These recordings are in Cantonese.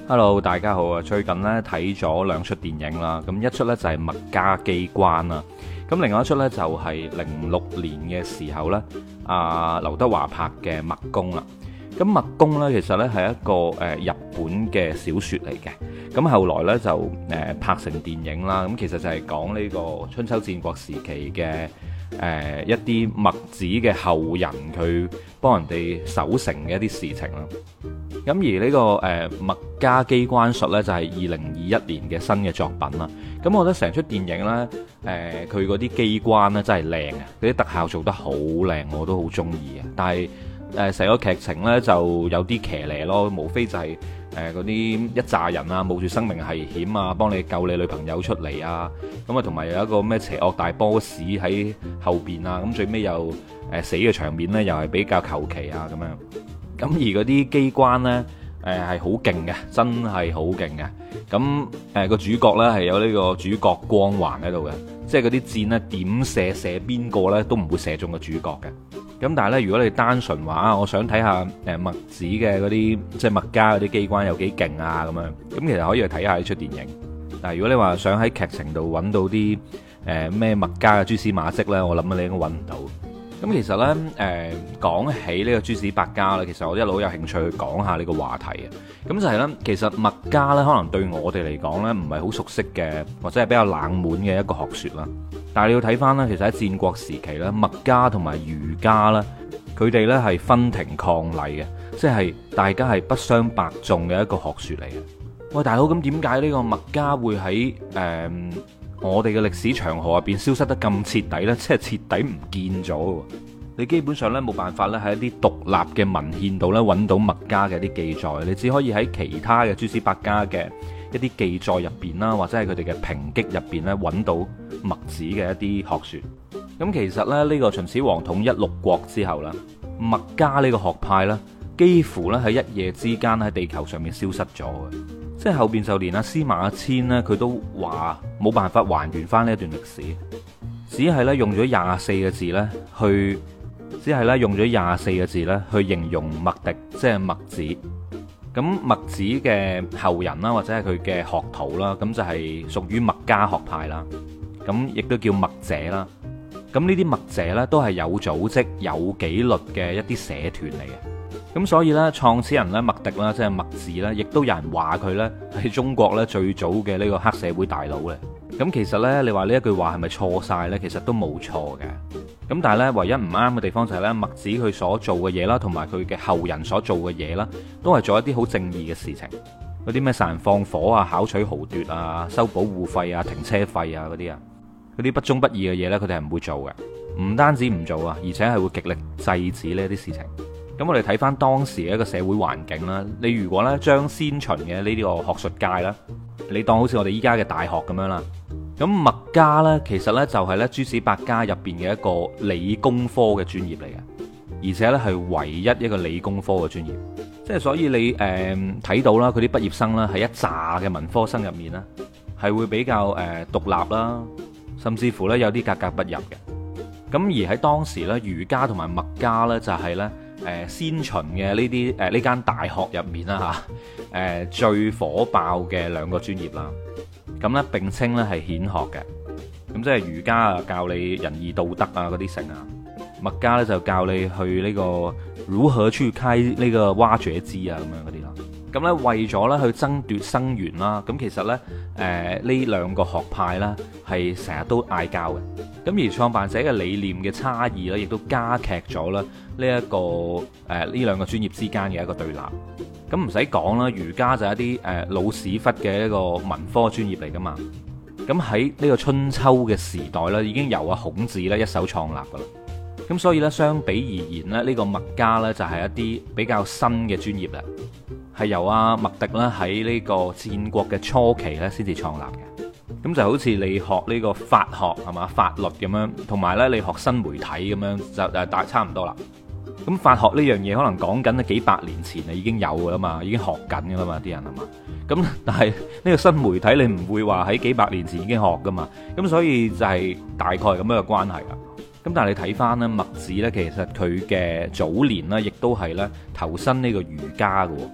Hello，大家好啊！最近咧睇咗兩出電影啦，咁一出呢就係《墨家機關》啦，咁另外一出呢就係06年嘅時候呢，劉德華拍嘅《墨攻》啦。咁《墨攻》呢其實呢係一個日本嘅小説嚟嘅，咁後來呢就拍成電影啦。咁其實就係講呢個春秋戰國時期嘅一啲墨子嘅後人，佢幫人哋守城嘅一啲事情啦。咁而呢個墨家機關術呢，就係2021年嘅新嘅作品啦。咁我覺得成出電影呢，佢嗰啲機關呢真係靚啊，嗰啲特效做得好靚，我都好中意啊。但係成個劇情呢，就有啲騎呢咯，無非就係嗰啲一紮人啊，冒住生命危險啊，幫你救你女朋友出嚟啊。咁啊，同埋有一個咩邪惡大 boss 喺後邊啊。咁最尾又死嘅場面呢，又係比較求其啊咁樣。咁而嗰啲機關呢，係好勁嘅，真係好勁嘅。咁個主角呢，係有呢個主角光環喺度嘅，即係嗰啲箭呢點射邊個呢都唔會射中個主角嘅。咁但係呢，如果你單純話我想睇下墨子嘅嗰啲即係墨家嗰啲機關有幾勁啊咁樣，咁其實可以去睇下呢出電影。但係如果你話想喺劇情度揾到啲咩墨家嘅蛛絲馬跡呢，我諗你應該揾唔到。咁其實呢，講起呢個諸子百家呢，其實我一路有興趣去講下呢個話題嘅。咁就係呢，其實墨家呢，可能對我哋嚟講呢，唔係好熟悉嘅，或者係比較冷門嘅一個學説啦。但係你要睇翻呢，其實喺戰國時期呢，墨家同埋儒家呢，佢哋呢係分庭抗禮嘅，即係大家係不相伯仲嘅一個學説嚟嘅。喂，大佬，咁點解呢個墨家會喺我哋嘅歷史長河入邊消失得咁徹底呢？即係徹底唔見咗。你基本上呢，冇辦法咧喺一啲獨立嘅文獻度呢揾到墨家嘅一啲記載，你只可以喺其他嘅諸子百家嘅一啲記載入邊啦，或者係佢哋嘅評擊入邊呢揾到墨子嘅一啲學説。咁其實咧，呢個秦始皇統一六國之後啦，墨家呢個學派呢，幾乎咧喺一夜之間喺地球上面消失咗嘅。即係後邊就連阿司馬遷呢，佢都話冇辦法還原翻呢一段歷史，只係咧用咗24個字咧去，只係咧用咗24個字咧去形容墨翟，即係墨子。咁墨子嘅後人啦，或者係佢嘅學徒啦，咁就係屬於墨家學派啦。咁亦都叫墨者啦。咁呢啲墨者呢，都係有組織、有紀律嘅一啲社團嚟嘅。咁所以呢，創始人呢，墨翟啦，即係墨子呢，亦都有人話佢呢係中國呢最早嘅呢個黑社會大佬咧。咁其實呢，你話呢一句話係咪錯晒呢？其實都冇錯嘅。咁但係呢，唯一唔啱嘅地方就係呢，墨子佢所做嘅嘢啦，同埋佢嘅後人所做嘅嘢啦，都係做一啲好正義嘅事情。嗰啲咩殺人放火啊、巧取豪奪啊、收保護費啊、停車費啊嗰啲啊，嗰啲不忠不義嘅嘢呢，佢哋係唔會做嘅。唔單止唔做啊，而且係會極力制止呢啲事情。咁我哋睇翻當時嘅一個社會環境啦，你如果咧將先秦嘅呢啲個學術界啦，你當好似我哋依家嘅大學咁樣啦，咁墨家呢，其實呢就係呢諸子百家入邊嘅一個理工科嘅專業嚟嘅，而且呢係唯一一個理工科嘅專業，即係所以你睇到啦，佢啲畢業生啦喺一紮嘅文科生入面呢，係會比較獨立啦，甚至乎呢有啲格格不入嘅。咁而喺當時呢，儒家同埋墨家呢，就係呢。先秦嘅呢啲呢間大學入面啦嚇，最火爆嘅兩個專業啦。咁呢並稱呢係顯學嘅。咁即係儒家啊教你仁義道德啊嗰啲成啊，墨家呢就教你去呢個如何去開呢個挖掘機啊咁樣嗰啲啦。咁呢為咗呢去爭奪生源啦，咁其實呢呢兩個學派呢係成日都嗌交嘅。咁而創辦者嘅理念嘅差異咧，亦都加劇咗咧呢一個呢兩個專業之間嘅一個對立。咁唔使講啦，儒家就係一啲老屎忽嘅一個文科專業嚟噶嘛。咁喺呢個春秋嘅時代咧，已經由阿孔子咧一手創立噶啦。咁所以咧，相比而言咧，呢個墨家咧就係一啲比較新嘅專業啦，係由阿墨翟啦喺呢個戰國嘅初期咧先至創立嘅。咁就好似你學呢個法學係嘛，法律咁樣，同埋呢你學新媒體咁樣就大差唔多啦。咁法學呢樣嘢可能講緊幾百年前啊已經有噶啦嘛，已經學緊噶啦嘛啲人係嘛。咁但係呢個新媒體你唔會話喺幾百年前已經學噶嘛。咁所以就係大概咁樣嘅關係啦。咁但係你睇翻呢墨子呢，其實佢嘅早年呢亦都係呢投身呢個儒家嘅。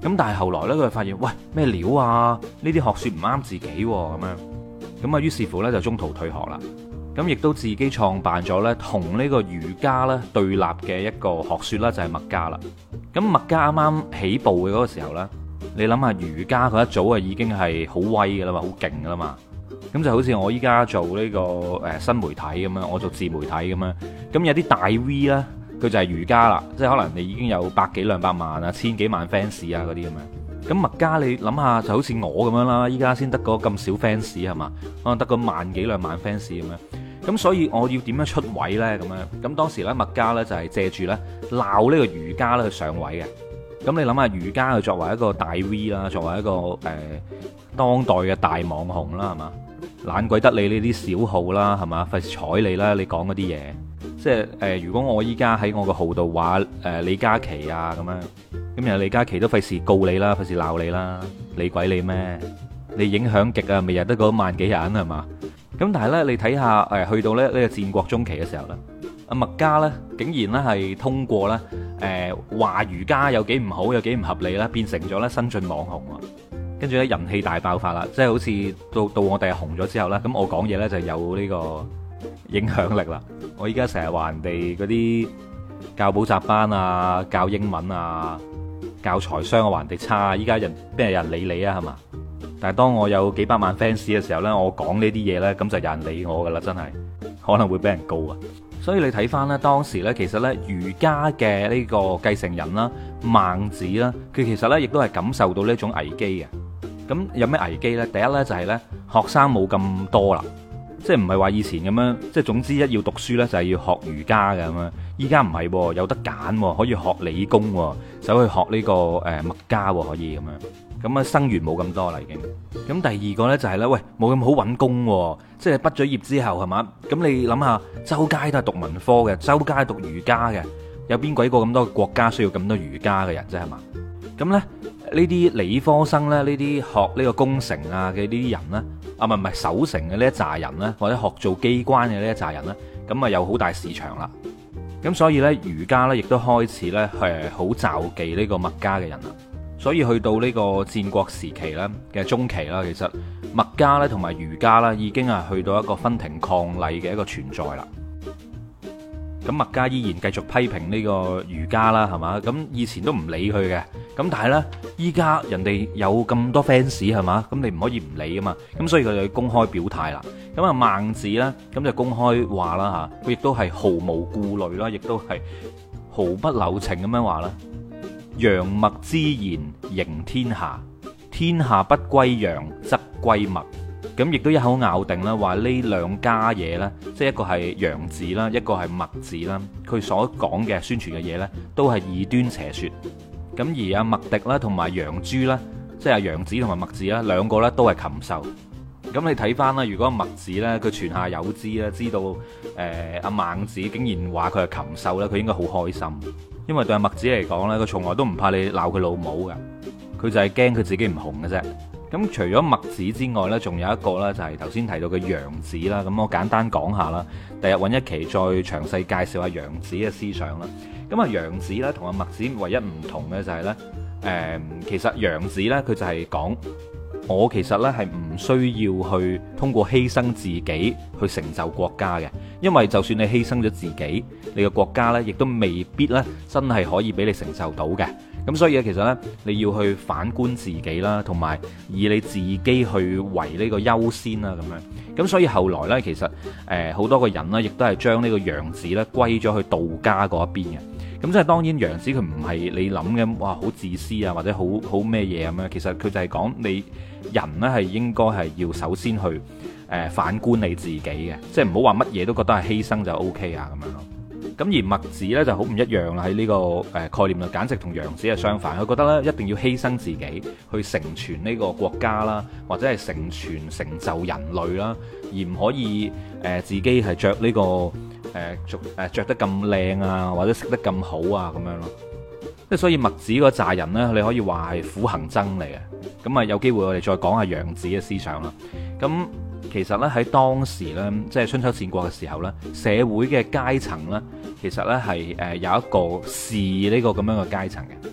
咁但係後來呢，佢就發現，喂，咩料啊？呢啲學說唔啱自己咁樣，咁啊於是乎呢，就中途退學啦。咁亦都自己創辦咗呢同呢個儒家呢對立嘅一個學說啦，就係墨家啦。咁墨家啱啱起步嘅嗰個時候呢，你諗下儒家佢一早啊已經係好威噶啦嘛，好勁噶啦嘛。咁就好似我依家做呢個新媒體咁樣，我做自媒體咁樣。咁有啲大 V 啦，佢就係儒家啦，即係可能你已經有百幾兩百萬啊、千幾萬 fans 啊嗰啲咁樣。咁墨家你諗下就好似我咁樣啦，依家先得嗰咁少 fans 係嘛，可能得個萬幾兩萬 fans 咁樣。咁所以我要點樣出位呢？咁樣咁當時咧墨家咧就係借住咧鬧呢個儒家咧去上位嘅。咁你諗下儒家佢作為一個大 V 啦，作為一個當代嘅大網紅啦，係嘛？懶鬼得你呢啲小號啦，係嘛？費事睬你啦，你講嗰啲嘢，即係如果我依家喺我個號度話李嘉琪啊咁樣，咁人李嘉琪都費事告你啦，費事鬧你啦，理鬼你咩？你影響極啊，咪日得嗰萬幾人係嘛？咁但係呢，你睇下去到咧呢個戰國中期嘅時候呢，阿墨家呢竟然呢係通過呢話儒家有幾唔好，有幾唔合理啦，變成咗呢新晉網紅啊！跟住咧人氣大爆發啦，即係好似到我哋紅咗之後咧，咁我講嘢咧就有呢個影響力啦。我依家成日話人哋嗰啲教補習班啊、教英文啊、教財商啊話人哋差，依家邊有人理你啊係嘛？但係當我有幾百萬 fans 嘅時候咧，我講呢啲嘢咧，咁就有人理我噶啦，真係可能會俾人告啊！所以你睇翻咧，當時咧其實咧儒家嘅呢個繼承人啦，孟子啦，佢其實咧亦都係感受到呢種危機嘅。咁有咩危機呢？第一呢，就係呢學生冇咁多啦，即係唔係話以前咁樣，即係總之一要讀書呢，就係要學儒家嘅咁樣。依家唔係，有得揀，可以學理工，走去學呢個墨家可以咁樣。咁啊生源冇咁多啦已經。咁第二個呢，就係呢：喂，冇咁好揾工，即係畢咗業之後係嘛？咁你諗下，周街都係讀文科嘅，周街讀儒家嘅，有邊鬼個咁多國家需要咁多儒家嘅人啫係嘛？咁呢。呢啲理科生咧，呢啲學呢個工程啊嘅呢啲人呢，啊唔係守城嘅呢一紮人呢，或者學做機關嘅呢一紮人呢，咁啊有好大市場啦。咁所以呢，儒家呢亦都開始呢係好罩忌呢個墨家嘅人啦。所以去到呢個戰國時期呢嘅中期啦，其實墨家呢同埋儒家呢已經係去到一個分庭抗禮嘅一個存在啦。咁墨家依然繼續批評呢個儒家啦，係嘛？咁以前都唔理佢嘅，咁但係呢，依家人哋有咁多 fans 係嘛？咁你唔可以唔理啊嘛？咁所以佢就要公開表態啦。咁啊孟子呢，咁就公開話啦嚇，佢亦都係毫無顧慮啦，亦都係毫不留情咁樣話啦。楊墨之言迎天下，天下不歸楊則歸墨。咁亦都一口咬定啦，話呢兩家嘢呢，即係一個係楊字啦，一個係墨字啦，佢所講嘅宣傳嘅嘢呢，都係異端邪說。咁而阿墨翟啦，同埋楊朱啦，即係楊子同埋墨子啦，兩個呢都係禽獸。咁你睇翻啦，如果墨子呢，佢泉下有知啦，知道阿孟子竟然話佢係禽獸呢，佢應該好開心，因為對阿墨子嚟講呢，佢從來都唔怕你鬧佢老母噶，佢就係驚佢自己唔紅嘅啫。咁除咗墨子之外呢，仲有一個呢，就係頭先提到嘅楊子啦。咁我簡單講下啦，第日揾一期再詳細介紹下楊子嘅思想啦。咁啊楊子呢，同阿墨子唯一唔同嘅就係呢，其實楊子呢，佢就係講我其實呢係唔需要去通過犧牲自己去成就國家嘅，因為就算你犧牲咗自己，你個國家呢亦都未必呢真係可以俾你承受到嘅。咁所以咧，其實呢，你要去反觀自己啦，同埋以你自己去為呢個優先啦，咁樣。咁所以後來呢，其實好多個人呢，亦都係將呢個楊子呢歸咗去道家嗰一邊嘅。咁即係當然，楊子佢唔係你諗嘅哇，好自私啊，或者好咩嘢咁樣。其實佢就係講你人呢，係應該係要首先去反觀你自己嘅，即係唔好話乜嘢都覺得係犧牲就 OK 啊咁樣咯。咁而墨子咧就好唔一樣啦，喺呢個概念啦，簡直同楊子係相反。佢覺得咧一定要犧牲自己去成全呢個國家啦，或者係成就人類啦，而唔可以自己係着呢個着得咁靚啊，或者食得咁好啊咁樣咯。即係所以墨子嗰扎人呢，你可以話係苦行僧嚟嘅。咁啊有機會我哋再講下楊子嘅思想啦。咁其實咧喺當時咧，即係春秋戰國嘅時候咧，社會嘅階層咧，其實咧係有一個士呢個咁樣嘅階層嘅。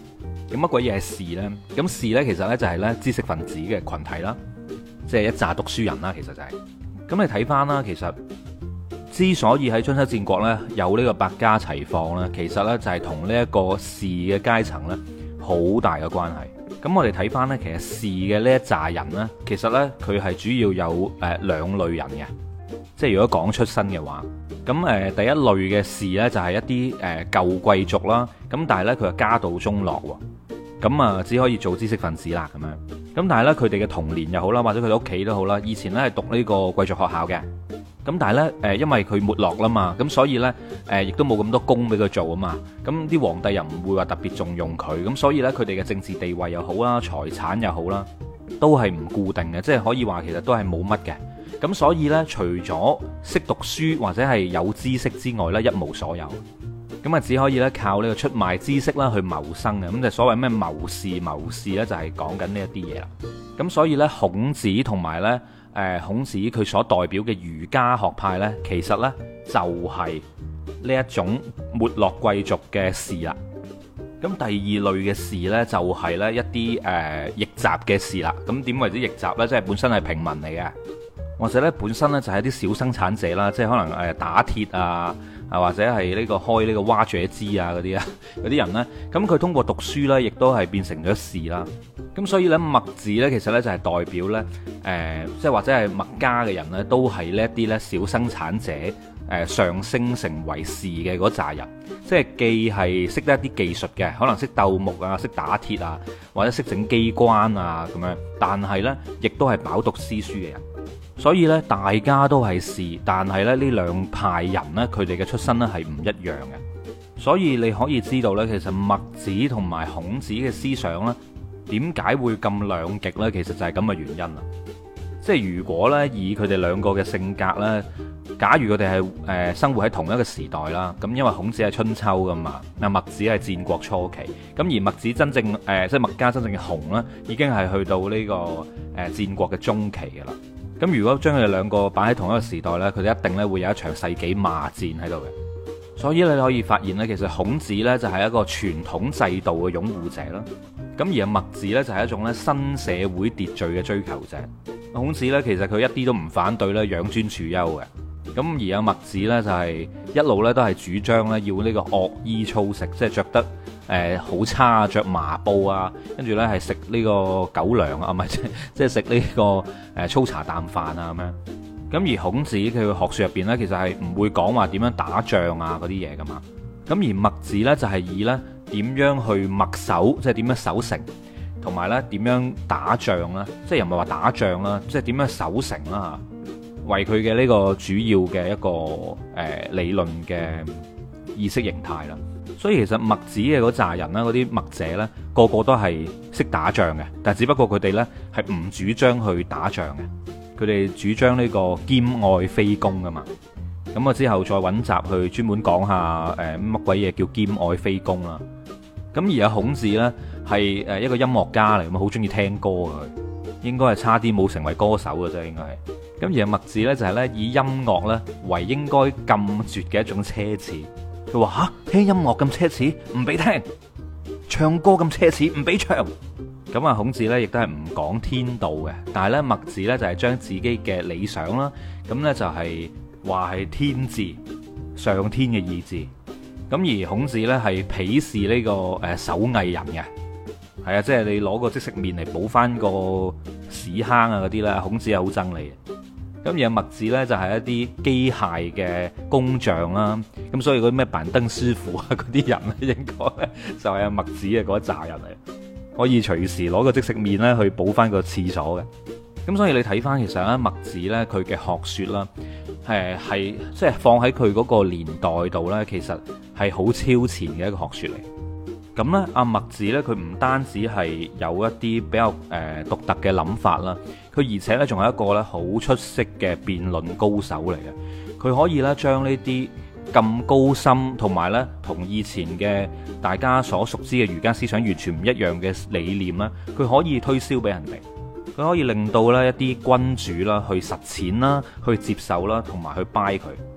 咁乜鬼嘢係士呢？咁士呢，其實呢就係呢知識分子嘅群體啦，即係一紮讀書人啦，其實就係。咁你睇翻啦，其實之所以喺春秋戰國呢有呢個百家齊放呢，其實呢就係同呢一個士嘅階層呢好大嘅關係。咁我哋睇翻呢，其實士嘅呢一紮人呢，其實呢，佢係主要有兩類人嘅，即係如果講出身嘅話，咁第一類嘅士呢，就係一啲舊貴族啦，咁但係呢，佢係家道中落喎。咁啊，只可以做知識分子啦，咁樣。咁但係呢，佢哋嘅童年又好啦，或者佢哋屋企都好啦，以前呢係讀呢個貴族學校嘅。咁但係呢，因為佢沒落啦嘛，咁所以呢，亦都冇咁多工俾佢做啊嘛。咁啲皇帝又唔會話特別重用佢，咁所以呢，佢哋嘅政治地位又好啦，財產又好啦，都係唔固定嘅，即係可以話其實都係冇乜嘅。咁所以呢，除咗識讀書或者係有知識之外呢，一無所有。咁啊，只可以咧靠呢個出賣知識啦去謀生嘅，咁就所謂咩謀士咧，就係講緊呢一啲嘢啦。咁所以咧，孔子同埋咧孔子佢所代表嘅儒家學派咧，其實咧就係呢一種沒落貴族嘅士啦。咁第二類嘅士咧，就係咧一啲逆襲嘅士啦。咁點為之逆襲咧？即係本身係平民嚟嘅，或者咧本身咧就係一啲小生產者啦，即係可能打鐵啊。或者係呢個開呢個挖掘機啊嗰啲啊，嗰啲人呢，咁佢通過讀書呢，亦都係變成咗士啦。咁所以呢，墨字呢，其實呢就係代表呢，即係或者係墨家嘅人呢，都係呢一啲呢小生產者上升成為士嘅嗰扎人，即係既係識得一啲技術嘅，可能識鬥木啊，識打鐵啊，或者識整機關啊咁樣，但係呢，亦都係飽讀詩書嘅人。所以咧，大家都係士，但係咧呢兩派人呢，佢哋嘅出身呢係唔一樣嘅。所以你可以知道呢，其實墨子同埋孔子嘅思想呢，點解會咁兩極呢？其實就係咁嘅原因啦。即係如果呢，以佢哋兩個嘅性格呢，假如佢哋係生活喺同一個時代啦，咁因為孔子係春秋噶嘛，墨子係戰國初期，咁而墨子真正即係墨家真正嘅雄呢，已經係去到呢個戰國嘅中期噶啦。咁如果將佢哋兩個擺喺同一個時代呢，佢哋一定咧會有一場世紀罵戰喺度嘅。所以你可以發現呢，其實孔子呢就係一個傳統制度嘅擁護者啦。咁而墨子呢，就係一種咧新社會秩序嘅追求者。孔子呢，其實佢一啲都唔反對咧養尊處優嘅。咁而阿墨子呢，就係一路咧都係主張咧要呢個惡衣粗食，即係着得好差，着麻布啊，跟住呢係食呢個狗糧啊，唔係即係食呢個粗茶淡飯啊咁樣。咁而孔子佢嘅學術入邊呢，其實係唔會講話點樣打仗啊嗰啲嘢噶嘛。咁而墨子呢，就係以呢點樣去墨守，即係點樣守城，同埋呢點樣打仗啦，即係又唔係話打仗啦，即係點樣守城啦嚇，為佢嘅呢個主要嘅一個理論嘅意識形態啦。所以其實墨子嘅嗰扎人啦，嗰啲墨者呢，個個都係識打仗嘅，但係只不過佢哋呢係唔主張去打仗嘅，佢哋主張呢個兼愛非攻噶嘛。咁我之後再揾集去專門講下乜鬼嘢叫兼愛非攻啦。咁而家孔子呢，係一個音樂家嚟，咁好中意聽歌嘅，佢應該係差啲冇成為歌手嘅啫，應該係。咁而墨子呢，就係呢以音樂呢為應該禁絕嘅一種奢侈。佢話吓，聽音樂咁奢侈，唔俾聽；唱歌咁奢侈，唔俾唱。咁啊，孔子呢亦都係唔講天道嘅，但係呢，墨子呢就係將自己嘅理想啦，咁呢就係話係天志，上天嘅意志。咁而孔子呢係鄙視呢個手藝人嘅，係啊，即係你攞個即食麵嚟補翻個屎坑啊嗰啲咧，孔子係好憎你嘅。咁而墨子呢，就係一啲機械嘅工匠啦，咁所以嗰啲咩板燈師傅啊嗰啲人咧，應該咧就係墨子嘅嗰一紮人嚟，可以隨時攞個即食麵咧去補翻個廁所嘅。咁所以你睇翻其實咧，墨子呢，佢嘅學說啦，係即係放喺佢嗰個年代度呢，其實係好超前嘅一個學說嚟。咁呢，阿墨子呢，佢唔單止係有一啲比較獨特嘅諗法啦，佢而且呢，仲係一個呢好出色嘅辯論高手嚟嘅。佢可以呢，將呢啲咁高深同埋呢同以前嘅大家所熟知嘅儒家思想完全唔一樣嘅理念啦，佢可以推銷俾人哋，佢可以令到呢一啲君主啦去實踐啦、去接受啦同埋去 buy 佢。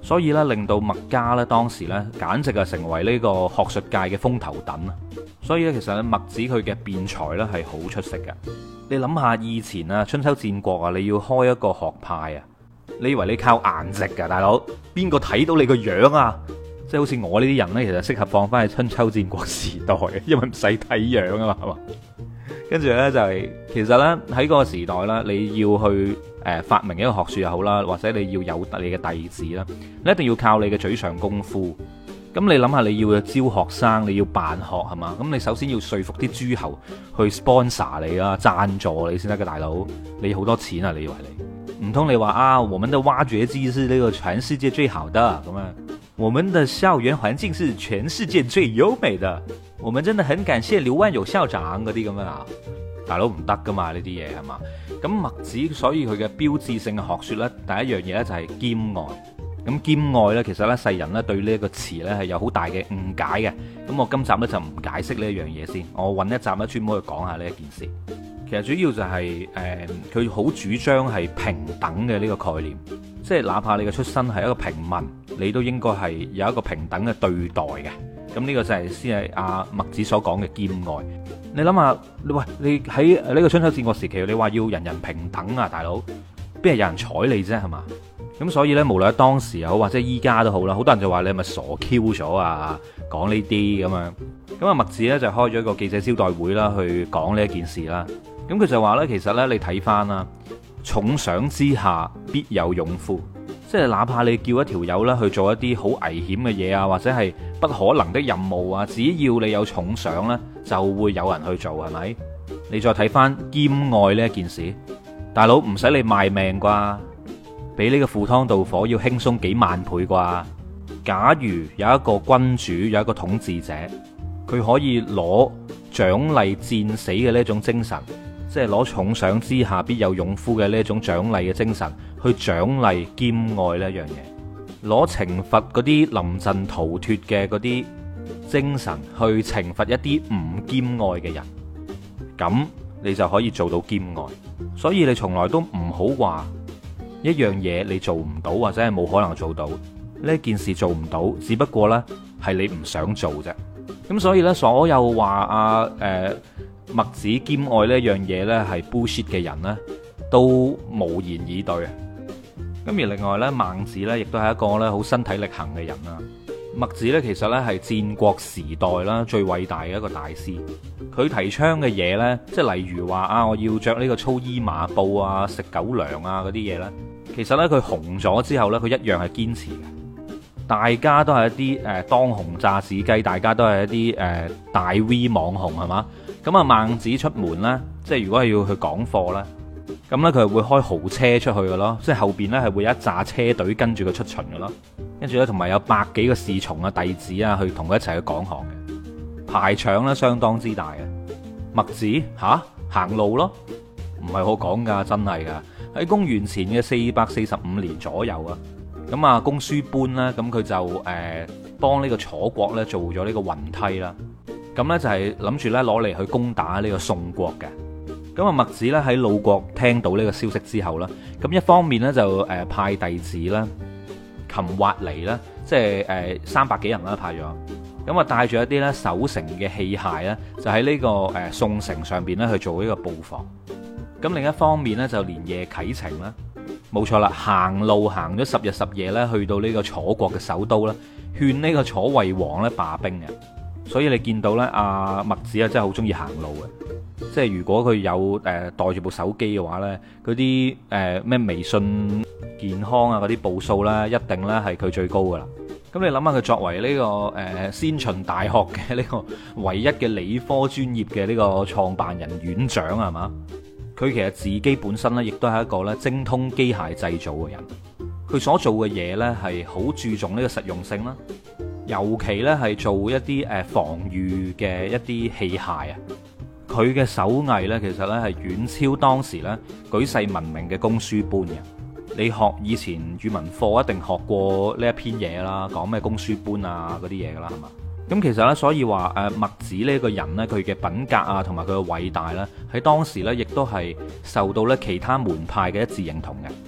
所以咧令到墨家咧當時咧簡直係成為呢個學術界嘅風頭躉啊！所以咧其實咧墨子佢嘅辯才咧係好出色嘅。你諗下以前啊春秋戰國啊，你要開一個學派啊，你以為你靠顏值㗎大佬？邊個睇到你個樣啊？即係好似我呢啲人呢，其實適合放翻去春秋戰國時代，因為唔使睇樣啊嘛，係嘛？跟住呢，就係其實呢，喺嗰個時代啦，你要去發明一個學術又好啦，或者你要有你嘅弟子啦，你一定要靠你嘅嘴上功夫。咁你諗下，你要招學生，你要辦學係嘛？咁你首先要說服啲諸侯去 sponsor 你啦，贊助你先得嘅大佬。你好多錢啊？你以為你唔通你話啊？我們的挖掘機是呢個全世界最好的咁啊？我們的校園環境是全世界最優美的。我們真的很感謝劉萬有校長嗰啲咁啊！大佬唔得噶嘛呢啲嘢係嘛？咁墨子所以佢嘅標誌性嘅學說呢，第一樣嘢呢就係兼愛。咁兼愛呢，其實呢世人呢對呢一個詞呢係有好大嘅誤解嘅。咁我今集呢就唔解釋呢一樣嘢先，我揾一集呢專門去講下呢一件事。其實主要就係佢好主張係平等嘅呢個概念，即係哪怕你嘅出身係一個平民，你都應該係有一個平等嘅對待嘅。咁呢個就係先係阿墨子所講嘅兼愛。你諗下，你喺呢個春秋戰國時期，你話要人人平等啊，大佬邊係有人睬你啫，係嘛？咁所以呢，無論喺當時又好，或者依家都好啦，好多人就話你係咪傻 Q 咗啊？講呢啲咁樣。咁啊，墨子呢就開咗一個記者招待會啦，去講呢一件事啦。咁佢就話呢，其實呢，你睇翻啦，重賞之下必有勇夫，即係哪怕你叫一條友呢去做一啲好危險嘅嘢啊，或者係不可能的任務啊，只要你有重賞呢，就會有人去做，係咪？你再睇翻兼愛呢一件事，大佬唔使你賣命啩？比呢個赴湯蹈火要輕鬆幾萬倍啩？假如有一個君主，有一個統治者，佢可以攞獎勵戰死嘅呢種精神，即係攞重賞之下必有勇夫嘅呢種獎勵嘅精神，去獎勵兼愛呢一樣嘢，攞懲罰嗰啲臨陣逃脫嘅嗰啲精神，去懲罰一啲唔兼愛嘅人，咁你就可以做到兼愛。所以你從來都唔好話一樣嘢你做唔到，或者係冇可能做到，呢件事做唔到，只不過呢係你唔想做啫。咁所以呢，所有話墨子兼愛呢樣嘢呢係 bullshit 嘅人呢，都無言以對。咁而另外呢，孟子呢亦都係一個呢好身體力行嘅人啦。墨子呢其實呢係戰國時代啦最偉大嘅一個大師。佢提倡嘅嘢呢，即係例如話啊，我要着呢個粗衣麻布啊，食狗糧啊嗰啲嘢呢，其實呢，佢紅咗之後呢，佢一樣係堅持嘅。大家都係一啲當紅炸子雞，大家都係一啲大 V 網紅係嘛？咁啊孟子出門呢，即係如果係要去講課呢，咁呢，佢係會開豪車出去嘅咯，即係後邊呢係會有一紮車隊跟住佢出巡嘅咯，跟住呢，同埋有百幾個侍從啊弟子啊去同佢一齊去講學嘅，排場呢相當之大嘅。墨子行路咯，唔係我講噶，真係噶。喺公元前嘅445年左右啊。咁啊，公輸般啦，咁佢就幫呢個楚國咧做咗呢個雲梯啦。咁呢，就係諗住咧攞嚟去攻打呢個宋國嘅。咁啊，墨子咧喺魯國聽到呢個消息之後啦，咁一方面呢，就派弟子啦，擒挖嚟啦，即係300幾人啦派咗。咁啊帶住一啲咧守城嘅器械咧，就喺呢個宋城上邊咧去做呢個布防。咁另一方面呢，就連夜啟程啦。冇錯啦，行路行咗10日10夜咧，去到呢個楚國嘅首都啦，勸呢個楚惠王咧罷兵嘅。所以你見到咧，阿墨子啊真係好中意行路嘅。即係如果佢有帶住部手機嘅話咧，嗰啲咩微信健康啊嗰啲步數咧，一定咧係佢最高噶啦。咁你諗下佢作為呢個先秦大學嘅呢個唯一嘅理科專業嘅呢個創辦人院長係嘛？佢其實自己本身咧，亦都係一個咧精通機械製造嘅人。佢所做嘅嘢咧，係好注重呢個實用性啦，尤其咧係做一啲防禦嘅一啲器械啊。佢嘅手藝咧，其實咧係遠超當時咧舉世聞名嘅公輸般嘅。你學以前語文課一定學過呢一篇嘢啦，講咩公輸般啊嗰啲嘢噶啦，係嘛？咁其實咧，所以話墨子呢個人呢，佢嘅品格啊，同埋佢嘅偉大呢，喺當時呢，亦都係受到咧其他門派嘅一致認同嘅。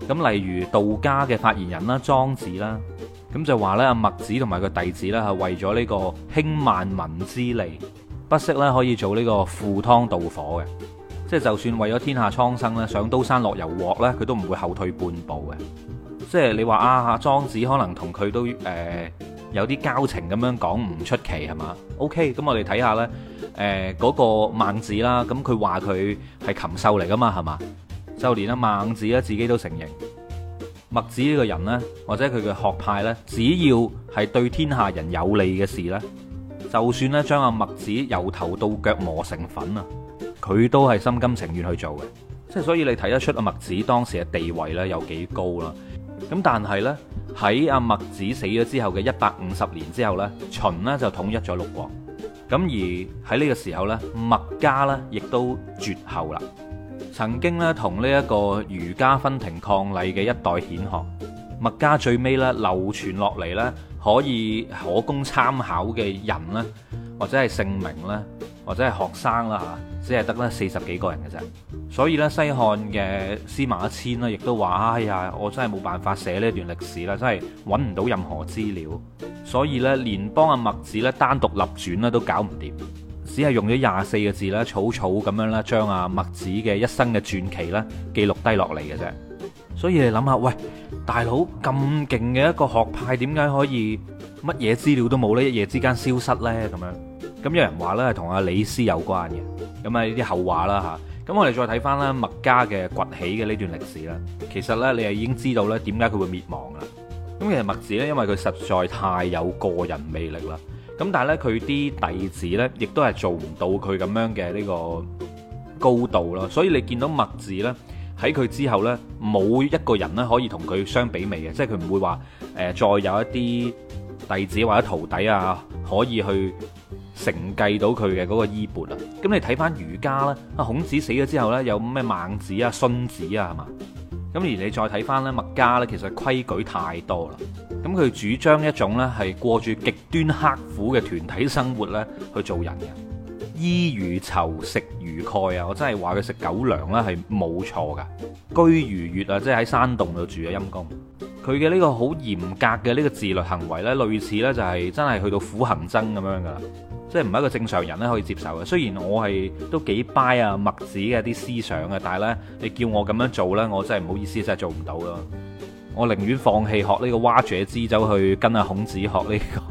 咁例如道家嘅發言人啦，莊子啦，咁就話咧阿墨子同埋佢弟子咧係為咗呢個興萬民之利，不惜咧可以做呢個赴湯蹈火嘅，即係就算為咗天下蒼生咧，上刀山落油鑊咧，佢都唔會後退半步嘅。即係你話啊，莊子可能同佢都有啲交情咁樣講唔出奇係嘛 ？OK，咁我哋睇下呢嗰個孟子啦，咁佢話佢係禽獸嚟噶嘛係嘛？就連阿孟子咧自己都承認，墨子呢個人呢，或者佢嘅學派呢，只要係對天下人有利嘅事呢，就算咧將阿墨子由頭到腳磨成粉啊，佢都係心甘情願去做嘅。即係所以你睇得出阿墨子當時嘅地位呢有幾高啦。咁但係呢，喺阿墨子死咗之後嘅150年之後呢，秦呢就統一咗六國。咁而喺呢個時候呢，墨家呢亦都絕後啦。曾經呢，同呢一個儒家分庭抗禮嘅一代顯學，墨家最尾呢流傳落嚟呢，可供參考嘅人呢，或者係姓名呢，或者係學生啦嚇，只係得呢40幾個人嘅啫。所以咧，西漢嘅司馬遷咧，亦都話：哎呀，我真係冇辦法寫呢段歷史啦，真係揾唔到任何資料。所以咧，連幫阿墨子咧單獨立傳咧都搞唔掂，只係用咗24個字咧，草草咁樣咧將阿墨子嘅一生嘅傳奇咧記錄低落嚟嘅啫。所以你諗下，喂，大佬咁勁嘅一個學派，點解可以乜嘢資料都冇呢？一夜之間消失呢？咁樣咁有人話咧係同阿李斯有關嘅，咁啊呢啲後話啦嚇。咁我哋再睇翻咧墨家嘅崛起嘅呢段歷史啦，其實呢，你係已經知道咧點解佢會滅亡啦。咁其實墨子呢，因為佢實在太有個人魅力啦，咁但係呢，佢啲弟子呢，亦都係做唔到佢咁樣嘅呢個高度啦。所以你見到墨子呢，喺佢之後呢，冇一個人呢可以同佢相比美嘅，即係佢唔會話再有一啲弟子或者徒弟啊可以去承繼到佢嘅嗰個衣缽啊。咁你睇翻儒家啦，啊孔子死咗之後呢，有咩孟子啊、荀子啊係嘛？咁而你再睇翻呢，墨家呢，其實規矩太多啦。咁佢主張一種呢係過住極端刻苦嘅團體生活呢去做人嘅，衣如綢，食如蓋啊！我真係話佢食狗糧呢係冇錯噶，居如穴啊，即係喺山洞度住啊陰公。佢嘅呢個好嚴格嘅呢個自律行為呢，類似呢就係真係去到苦行僧咁樣噶啦。即係唔係一個正常人咧可以接受嘅。雖然我係都幾 buy 啊墨子嘅啲思想嘅，但係呢，你叫我咁樣做呢，我真係唔好意思，真係做唔到咯。我寧願放棄學呢個蛙者之走去跟阿孔子學呢個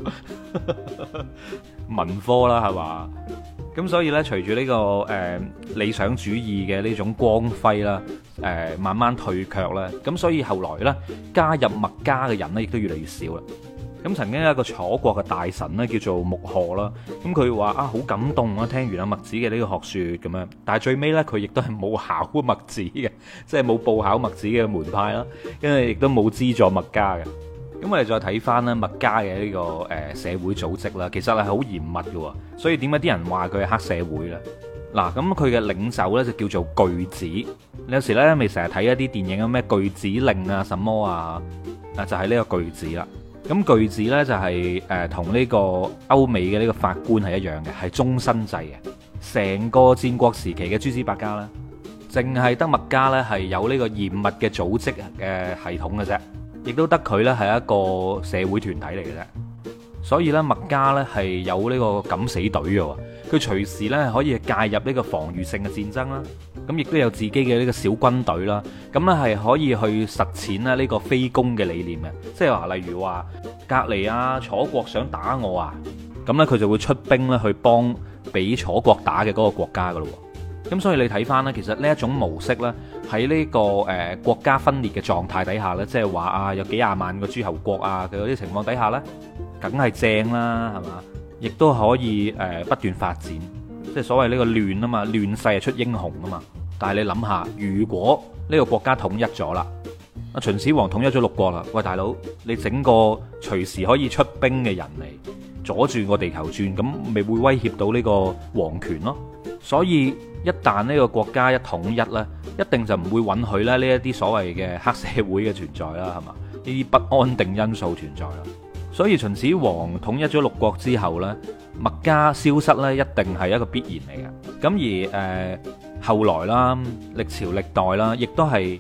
文科啦，係嘛？咁所以呢，隨住呢個理想主義嘅呢種光輝啦，慢慢退卻啦。咁所以後來呢，加入墨家嘅人呢，亦都越嚟越少啦。咁曾經有一個楚國嘅大臣咧，叫做穆賀啦。咁佢話啊，好感動啊，聽完阿墨子嘅呢個學說咁樣。但係最尾呢，佢亦都係冇考墨子嘅，即係冇報考墨子嘅門派啦。因為亦都冇資助墨家嘅。咁我哋再睇翻咧墨家嘅呢個社會組織啦，其實係好嚴密嘅。所以點解啲人話佢係黑社會咧？嗱，咁佢嘅領袖呢，就叫做巨子。你有時呢，咪成日睇一啲電影啊，咩巨子令啊，什麼啊，就係呢個巨子啦。咁巨子呢，就係同呢個歐美嘅呢個法官係一樣嘅，係終身制嘅。成個戰國時期嘅諸子百家啦，淨係得墨家呢係有呢個嚴密嘅組織嘅系統嘅啫，亦都得佢呢係一個社會團體嚟嘅啫。所以呢，墨家呢係有呢個敢死隊嘅，佢隨時呢可以介入呢個防禦性嘅戰爭啦。咁亦都有自己嘅呢個小軍隊啦，咁呢係可以去實踐咧呢個非攻嘅理念嘅，即係話例如話隔離啊楚國想打我啊，咁呢，佢就會出兵咧去幫俾楚國打嘅嗰個國家噶咯。咁所以你睇翻呢，其實呢一種模式呢，喺呢個國家分裂嘅狀態底下呢，即係話啊有幾廿萬個諸侯國啊嘅嗰啲情況底下呢，梗係正啦，係嘛？亦都可以不斷發展。即係所謂呢個亂啊嘛，亂世係出英雄啊嘛。但係你諗下，如果呢個國家統一咗啦，阿秦始皇統一咗六國啦，喂大佬，你整個隨時可以出兵嘅人嚟阻住個地球轉，咁咪會威脅到呢個皇權咯。所以一旦呢個國家一統一呢，一定就唔會允許咧呢一啲所謂嘅黑社會嘅存在啦，係嘛？呢啲不安定因素存在啦。所以秦始皇統一咗六國之後呢，墨家消失呢，一定係一個必然嚟嘅。咁而後來啦，歷朝歷代啦，亦都係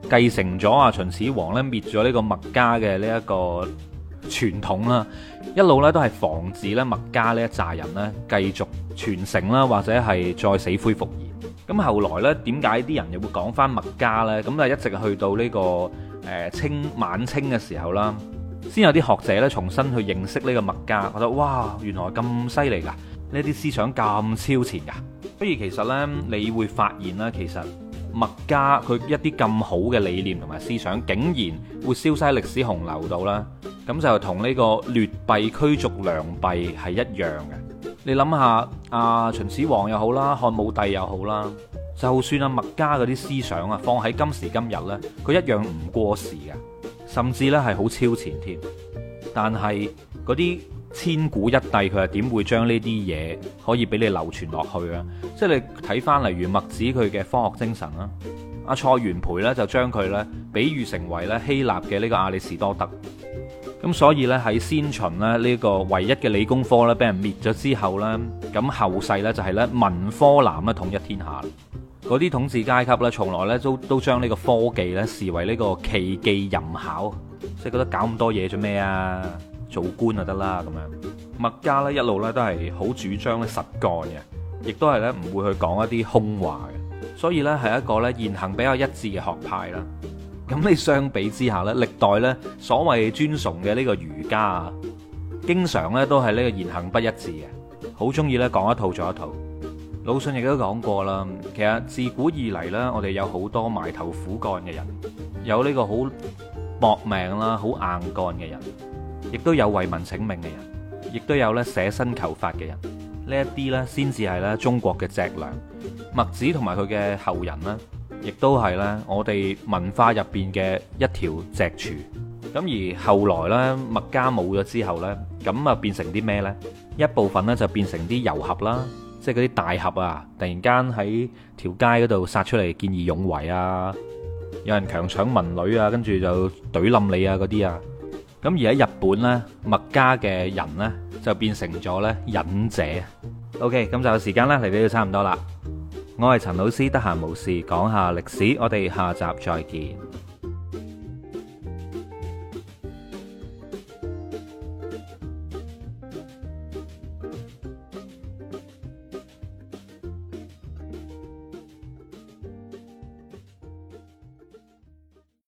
繼承咗啊秦始皇咧滅咗呢個墨家嘅呢一個傳統啦，一路咧都係防止咧墨家呢一紮人咧繼續傳承啦，或者係再死灰復燃。咁後來咧，點解啲人又會講翻墨家呢？咁啊一直去到呢個晚清嘅時候啦，先有啲學者咧重新去認識呢個墨家，覺得哇，原來咁犀利噶，呢啲思想咁超前噶。所以其實呢，你會發現啦，其實墨家佢一啲咁好嘅理念同埋思想，竟然會消失喺歷史洪流度啦。咁就同呢個劣幣驅逐良幣係一樣嘅。你諗下，秦始皇又好啦，漢武帝又好啦，就算墨家嗰啲思想啊，放喺今時今日呢，佢一樣唔過時嘅，甚至呢係好超前添。但係嗰啲千古一帝，佢係點會將呢啲嘢可以俾你流傳落去啊？即係你睇翻例如墨子佢嘅科學精神啦，阿蔡元培呢就將佢呢比喻成為咧希臘嘅呢個亞里士多德。咁所以咧喺先秦咧呢個唯一嘅理工科咧俾人滅咗之後咧，咁後世咧就係咧文科男咧統一天下。嗰啲統治階級咧從來咧都將呢個科技咧視為呢個奇技淫巧，即係覺得搞咁多嘢做咩啊？做官就得啦咁樣。墨家咧一路咧都係好主張咧實幹嘅，亦都係咧唔會去講一啲空話嘅，所以咧係一個咧言行比較一致嘅學派啦。咁你相比之下呢，歷代呢所謂尊崇嘅呢個儒家啊，經常呢都係呢個言行不一致嘅，好中意呢講一套做一套。魯迅亦都講過啦，其實自古以嚟呢，我哋有好多埋頭苦幹嘅人，有呢個好搏命啦、好硬幹嘅人，亦都有為民請命嘅人，亦都有呢捨身求法嘅人。呢一啲呢，先至係呢中國嘅脊梁。墨子同埋佢嘅後人呢，亦都係咧，我哋文化入邊嘅一條脊柱。咁而後來咧，墨家冇咗之後呢，咁啊變成啲咩呢？一部分呢就變成啲遊俠啦，即係嗰啲大俠啊，突然間喺條街嗰度殺出嚟見義勇為啊，有人強搶民女啊，跟住就懟冧你啊嗰啲啊。咁而喺日本呢，墨家嘅人呢，就變成咗咧忍者。OK，咁就時間啦嚟到差唔多啦。我係陳老師，得閒無事講下歷史，我哋下集再見。